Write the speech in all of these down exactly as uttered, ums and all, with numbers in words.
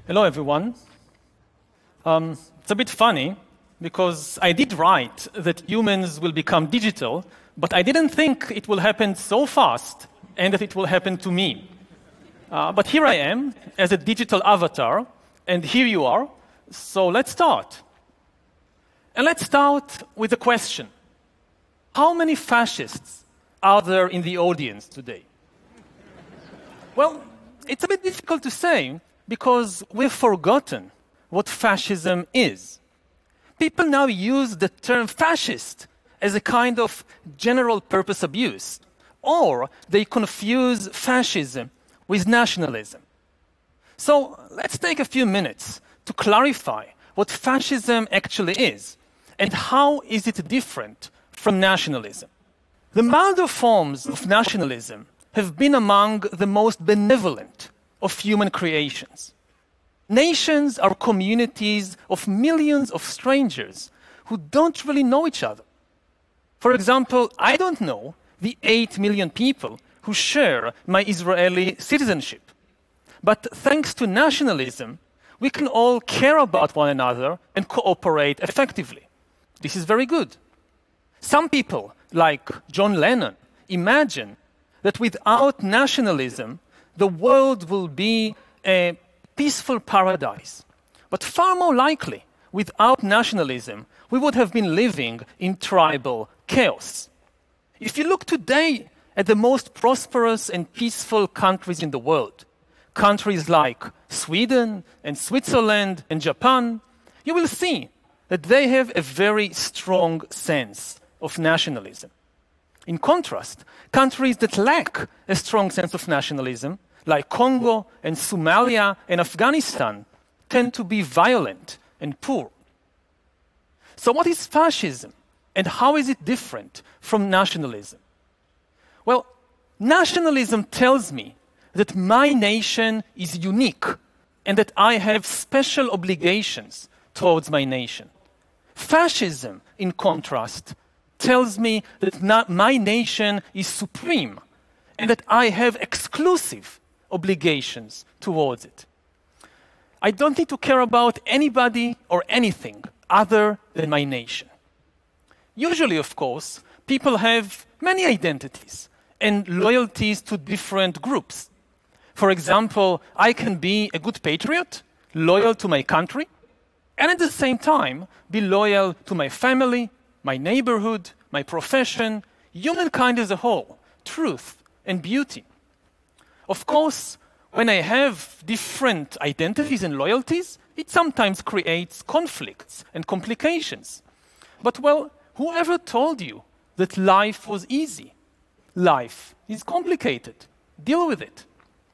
Hello, everyone. Um, it's a bit funny because I did write that humans will become digital, but I didn't think it will happen so fast and that it will happen to me. Uh, but here I am as a digital avatar, and here you are. So let's start. And let's start with a question. How many fascists are there in the audience today? Well, it's a bit difficult to say because we've forgotten what fascism is. People now use the term fascist as a kind of general purpose abuse, or they confuse fascism with nationalism. So let's take a few minutes to clarify what fascism actually is and how is it different from nationalism. The milder forms of nationalism have been among the most benevolent of human creations. Nations are communities of millions of strangers who don't really know each other. For example, I don't know the eight million people who share my Israeli citizenship. But thanks to nationalism, we can all care about one another and cooperate effectively. This is very good. Some people, like John Lennon, imagine that without nationalism, the world will be a peaceful paradise. But far more likely, without nationalism, we would have been living in tribal chaos. If you look today at the most prosperous and peaceful countries in the world, countries like Sweden and Switzerland and Japan, you will see that they have a very strong sense of nationalism. In contrast, countries that lack a strong sense of nationalism, like Congo and Somalia and Afghanistan, tend to be violent and poor. So what is fascism and how is it different from nationalism? Well, nationalism tells me that my nation is unique and that I have special obligations towards my nation. Fascism, in contrast, tells me that not my nation is supreme and that I have exclusive obligations towards it. I don't need to care about anybody or anything other than my nation. Usually, of course, people have many identities and loyalties to different groups. For example, I can be a good patriot, loyal to my country, and at the same time be loyal to my family, my neighborhood, my profession, humankind as a whole, truth and beauty. Of course, when I have different identities and loyalties, it sometimes creates conflicts and complications. But well, whoever told you that life was easy? Life is complicated. Deal with it.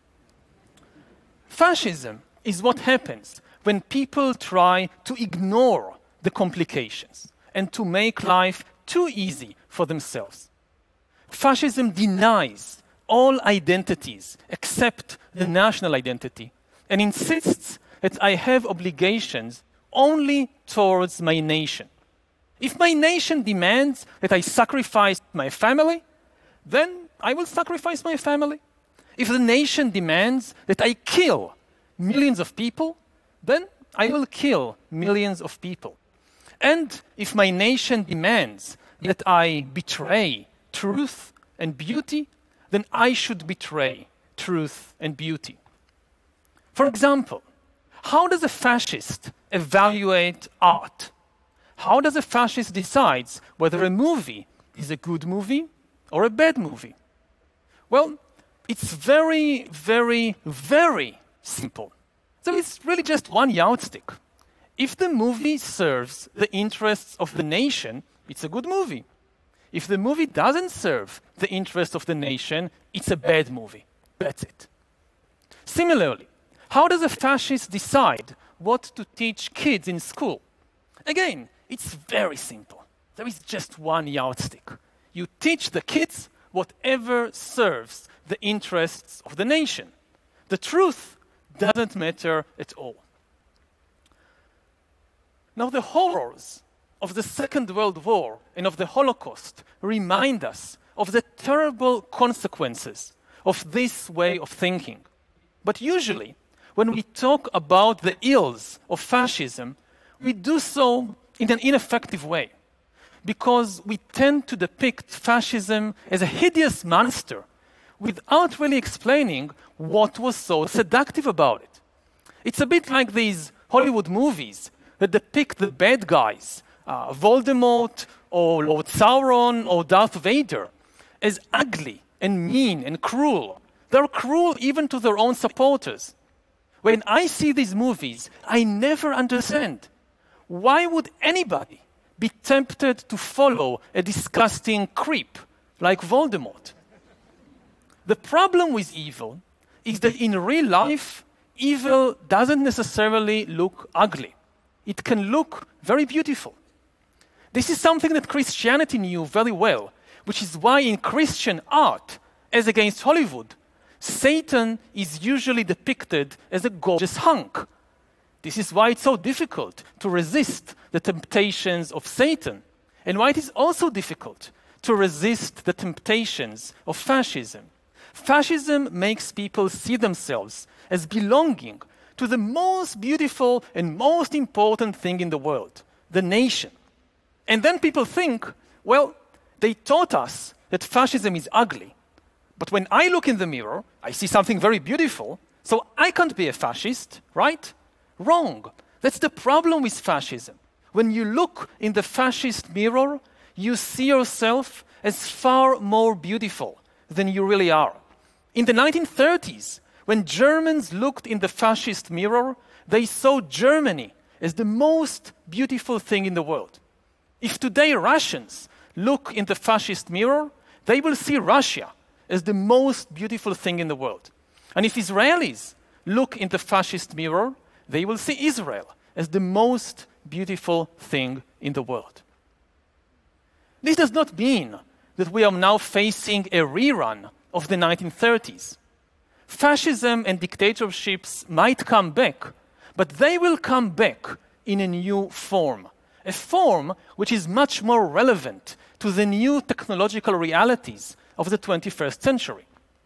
Fascism is what happens when people try to ignore the complications and to make life too easy for themselves. Fascism denies all identities except the national identity and insists that I have obligations only towards my nation. If my nation demands that I sacrifice my family, then I will sacrifice my family. If the nation demands that I kill millions of people, then I will kill millions of people. And if my nation demands that I betray truth and beauty, then I should betray truth and beauty. For example, how does a fascist evaluate art? How does a fascist decide whether a movie is a good movie or a bad movie? Well, it's very, very, very simple. So it's really just one yardstick. If the movie serves the interests of the nation, it's a good movie. If the movie doesn't serve the interests of the nation, it's a bad movie. That's it. Similarly, how does a fascist decide what to teach kids in school? Again, it's very simple. There is just one yardstick. You teach the kids whatever serves the interests of the nation. The truth doesn't matter at all. Now, the horrors of the Second World War and of the Holocaust remind us of the terrible consequences of this way of thinking. But usually, when we talk about the ills of fascism, we do so in an ineffective way, because we tend to depict fascism as a hideous monster without really explaining what was so seductive about it. It's a bit like these Hollywood movies that depict the bad guys, uh, Voldemort or Lord Sauron or Darth Vader, as ugly and mean and cruel. They're cruel even to their own supporters. When I see these movies, I never understand. Why would anybody be tempted to follow a disgusting creep like Voldemort? The problem with evil is that in real life, evil doesn't necessarily look ugly. It can look very beautiful. This is something that Christianity knew very well, which is why in Christian art, as against Hollywood, Satan is usually depicted as a gorgeous hunk. This is why it's so difficult to resist the temptations of Satan, and why it is also difficult to resist the temptations of fascism. Fascism makes people see themselves as belonging to the most beautiful and most important thing in the world, the nation. And then people think, well, they taught us that fascism is ugly. But when I look in the mirror, I see something very beautiful, so I can't be a fascist, right? Wrong. That's the problem with fascism. When you look in the fascist mirror, you see yourself as far more beautiful than you really are. In the nineteen thirties, when Germans looked in the fascist mirror, they saw Germany as the most beautiful thing in the world. If today Russians look in the fascist mirror, they will see Russia as the most beautiful thing in the world. And if Israelis look in the fascist mirror, they will see Israel as the most beautiful thing in the world. This does not mean that we are now facing a rerun of the nineteen thirties. Fascism and dictatorships might come back, but they will come back in a new form, a form which is much more relevant to the new technological realities of the twenty-first century.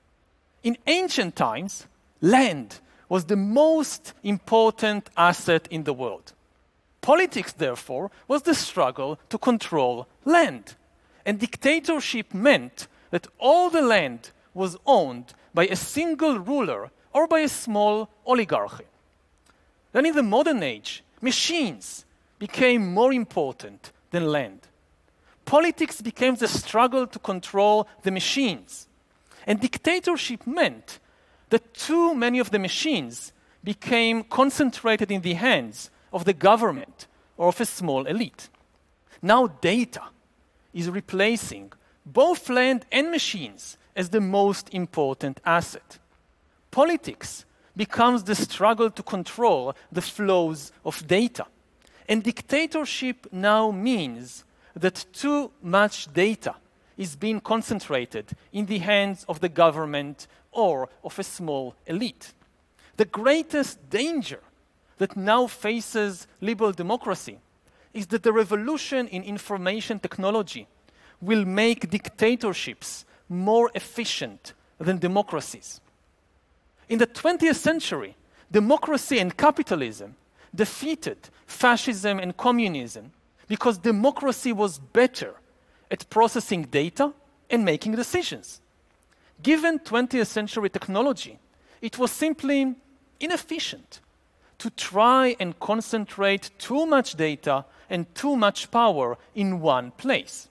In ancient times, land was the most important asset in the world. Politics, therefore, was the struggle to control land. And dictatorship meant that all the land was owned by a single ruler or by a small oligarchy. Then in the modern age, machines became more important than land. Politics became the struggle to control the machines. And dictatorship meant that too many of the machines became concentrated in the hands of the government or of a small elite. Now data is replacing both land and machines as the most important asset. Politics becomes the struggle to control the flows of data. And dictatorship now means that too much data is being concentrated in the hands of the government or of a small elite. The greatest danger that now faces liberal democracy is that the revolution in information technology will make dictatorships more efficient than democracies. In the twentieth century, democracy and capitalism defeated fascism and communism because democracy was better at processing data and making decisions. Given twentieth century technology, it was simply inefficient to try and concentrate too much data and too much power in one place.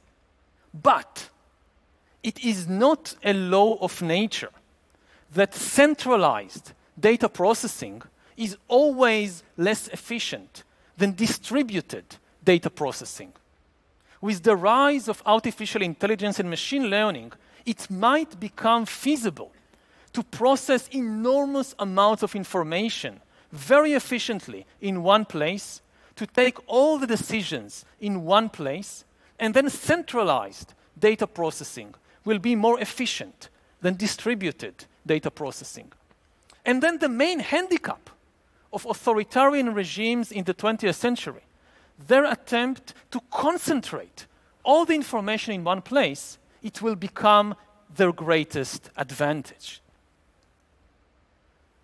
But it is not a law of nature that centralized data processing is always less efficient than distributed data processing. With the rise of artificial intelligence and machine learning, it might become feasible to process enormous amounts of information very efficiently in one place, to take all the decisions in one place, and then centralized data processing will be more efficient than distributed data processing. And then the main handicap of authoritarian regimes in the twentieth century, their attempt to concentrate all the information in one place, it will become their greatest advantage.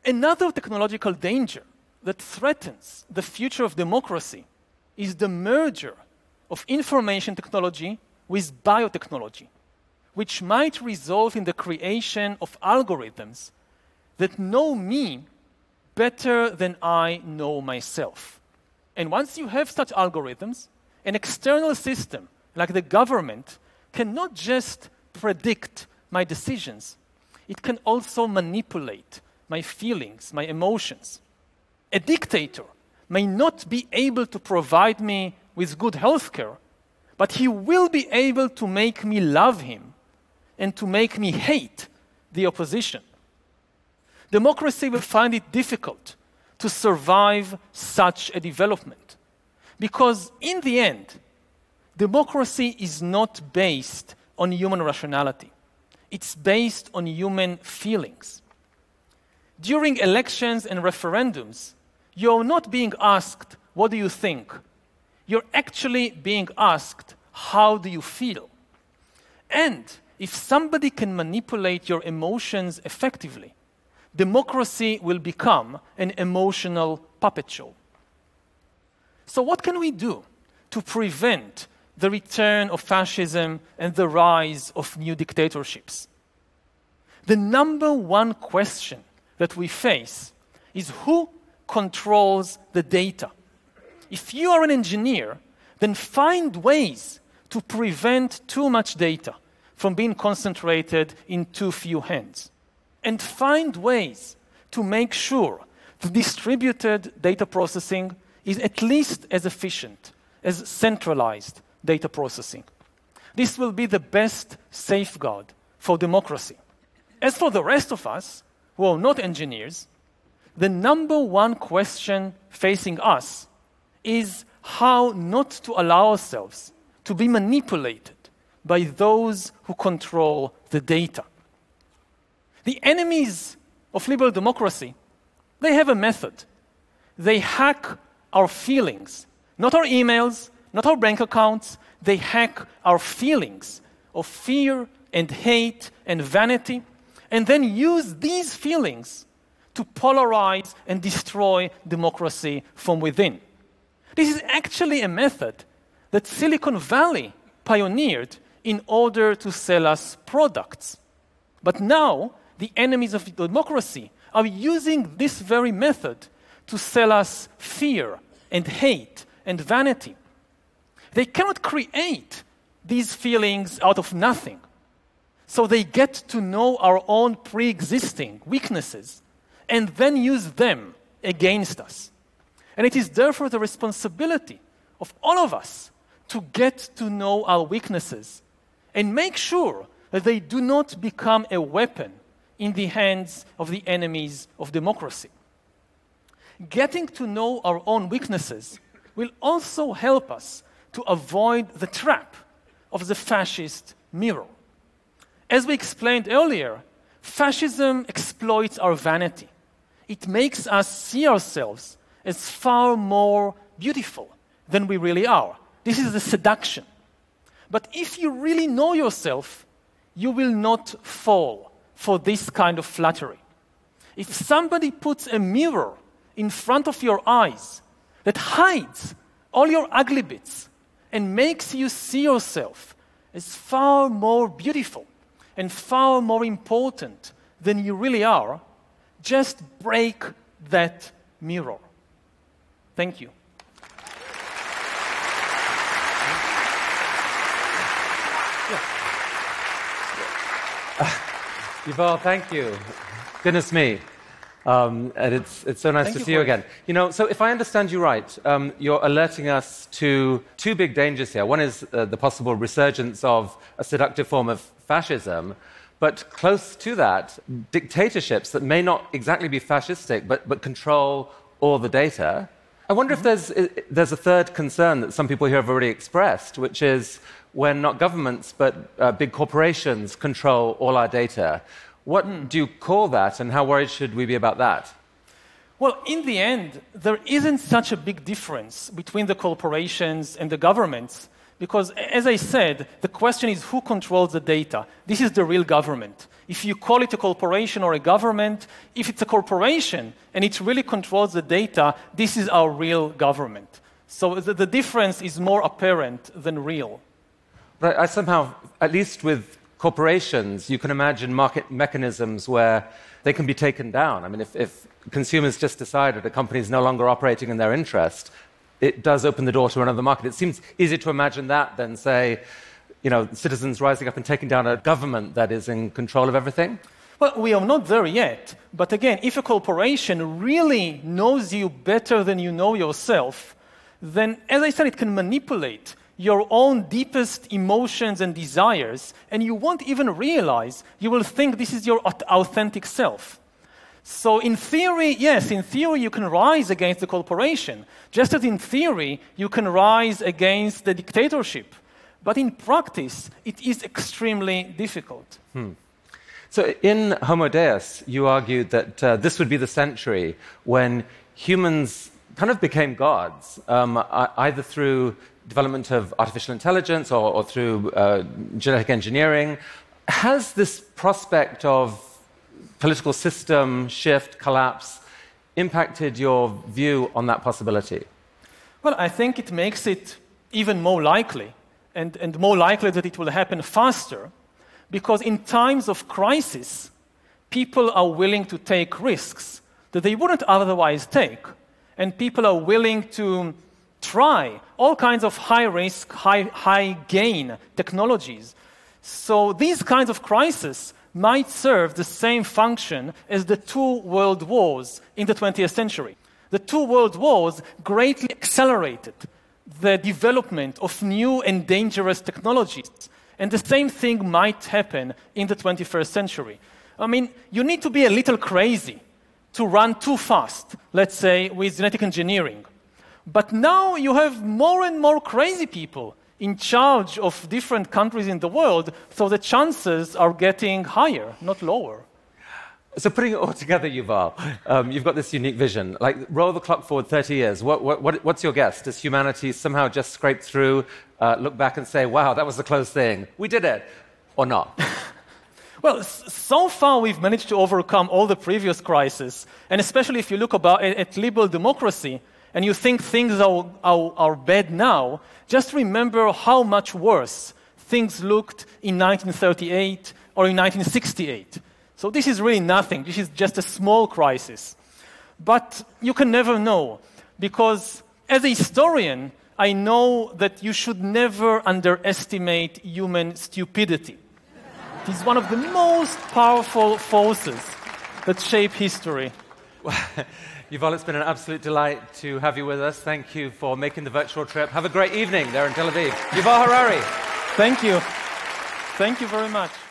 Another technological danger that threatens the future of democracy is the merger of information technology with biotechnology, which might result in the creation of algorithms that know me better than I know myself. And once you have such algorithms, an external system like the government cannot just predict my decisions, it can also manipulate my feelings, my emotions. A dictator may not be able to provide me with good healthcare, but he will be able to make me love him and to make me hate the opposition. Democracy will find it difficult to survive such a development because, in the end, democracy is not based on human rationality. It's based on human feelings. During elections and referendums, you're not being asked, what do you think? You're actually being asked, how do you feel? And if somebody can manipulate your emotions effectively, democracy will become an emotional puppet show. So what can we do to prevent the return of fascism and the rise of new dictatorships? The number one question that we face is who controls the data. If you are an engineer, then find ways to prevent too much data from being concentrated in too few hands. And find ways to make sure the distributed data processing is at least as efficient as centralized data processing. This will be the best safeguard for democracy. As for the rest of us, who are not engineers, the number one question facing us is how not to allow ourselves to be manipulated by those who control the data. The enemies of liberal democracy, they have a method. They hack our feelings, not our emails, not our bank accounts. They hack our feelings of fear and hate and vanity, and then use these feelings to polarize and destroy democracy from within. This is actually a method that Silicon Valley pioneered in order to sell us products. But now, the enemies of democracy are using this very method to sell us fear and hate and vanity. They cannot create these feelings out of nothing. So they get to know our own pre-existing weaknesses and then use them against us. And it is therefore the responsibility of all of us to get to know our weaknesses and make sure that they do not become a weapon in the hands of the enemies of democracy. Getting to know our own weaknesses will also help us to avoid the trap of the fascist mirror. As we explained earlier, fascism exploits our vanity. It makes us see ourselves as far more beautiful than we really are. This is the seduction. But if you really know yourself, you will not fall for this kind of flattery. If somebody puts a mirror in front of your eyes that hides all your ugly bits and makes you see yourself as far more beautiful and far more important than you really are, just break that mirror. Thank you. Uh, Yuval, thank you. Goodness me. Um, and it's, it's so nice Thank to you see you it. again. You know, so if I understand you right, um, you're alerting us to two big dangers here. One is uh, the possible resurgence of a seductive form of fascism, but close to that, dictatorships that may not exactly be fascistic, but, but control all the data. I wonder mm-hmm. if there's, there's a third concern that some people here have already expressed, which is when not governments, but uh, big corporations control all our data. What mm. do you call that, and how worried should we be about that? Well, in the end, there isn't such a big difference between the corporations and the governments, because, as I said, the question is who controls the data. This is the real government. if you call it a corporation or a government, if it's a corporation and it really controls the data, this is our real government. So the, the difference is more apparent than real. But I somehow, at least with corporations, you can imagine market mechanisms where they can be taken down. I mean, if, if consumers just decide that a company is no longer operating in their interest, it does open the door to another market. It seems easier to imagine that than, say, you know, citizens rising up and taking down a government that is in control of everything. Well, we are not there yet. But again, if a corporation really knows you better than you know yourself, then, as I said, it can manipulate your own deepest emotions and desires, and you won't even realize. You will think this is your authentic self. So in theory, yes, in theory you can rise against the corporation, just as in theory you can rise against the dictatorship. But in practice, it is extremely difficult. Hmm. So in Homo Deus, you argued that uh, this would be the century when humans kind of became gods, um, either through development of artificial intelligence or, or through uh, genetic engineering. Has this prospect of political system shift, collapse, impacted your view on that possibility? Well, I think it makes it even more likely, and, and more likely that it will happen faster, because in times of crisis, people are willing to take risks that they wouldn't otherwise take. And people are willing to try all kinds of high-risk, high, high-gain technologies. So these kinds of crises might serve the same function as the two world wars in the twentieth century. The two world wars greatly accelerated the development of new and dangerous technologies. And the same thing might happen in the twenty-first century. I mean, you need to be a little crazy to run too fast, let's say, with genetic engineering. But now you have more and more crazy people in charge of different countries in the world, so the chances are getting higher, not lower. So putting it all together, Yuval, um, you've got this unique vision. Like, roll the clock forward thirty years. What, what, what, what's your guess? Does humanity somehow just scrape through, uh, look back and say, wow, that was a close thing. We did it. Or not? Well, so far we've managed to overcome all the previous crises, and especially if you look about, at liberal democracy, and you think things are, are, are bad now, just remember how much worse things looked in nineteen thirty-eight or in nineteen sixty-eight. So this is really nothing. This is just a small crisis. But you can never know, because as a historian, I know that you should never underestimate human stupidity. It is one of the most powerful forces that shape history. Well, Yuval, it's been an absolute delight to have you with us. Thank you for making the virtual trip. Have a great evening there in Tel Aviv. Yuval Harari. Thank you. Thank you very much.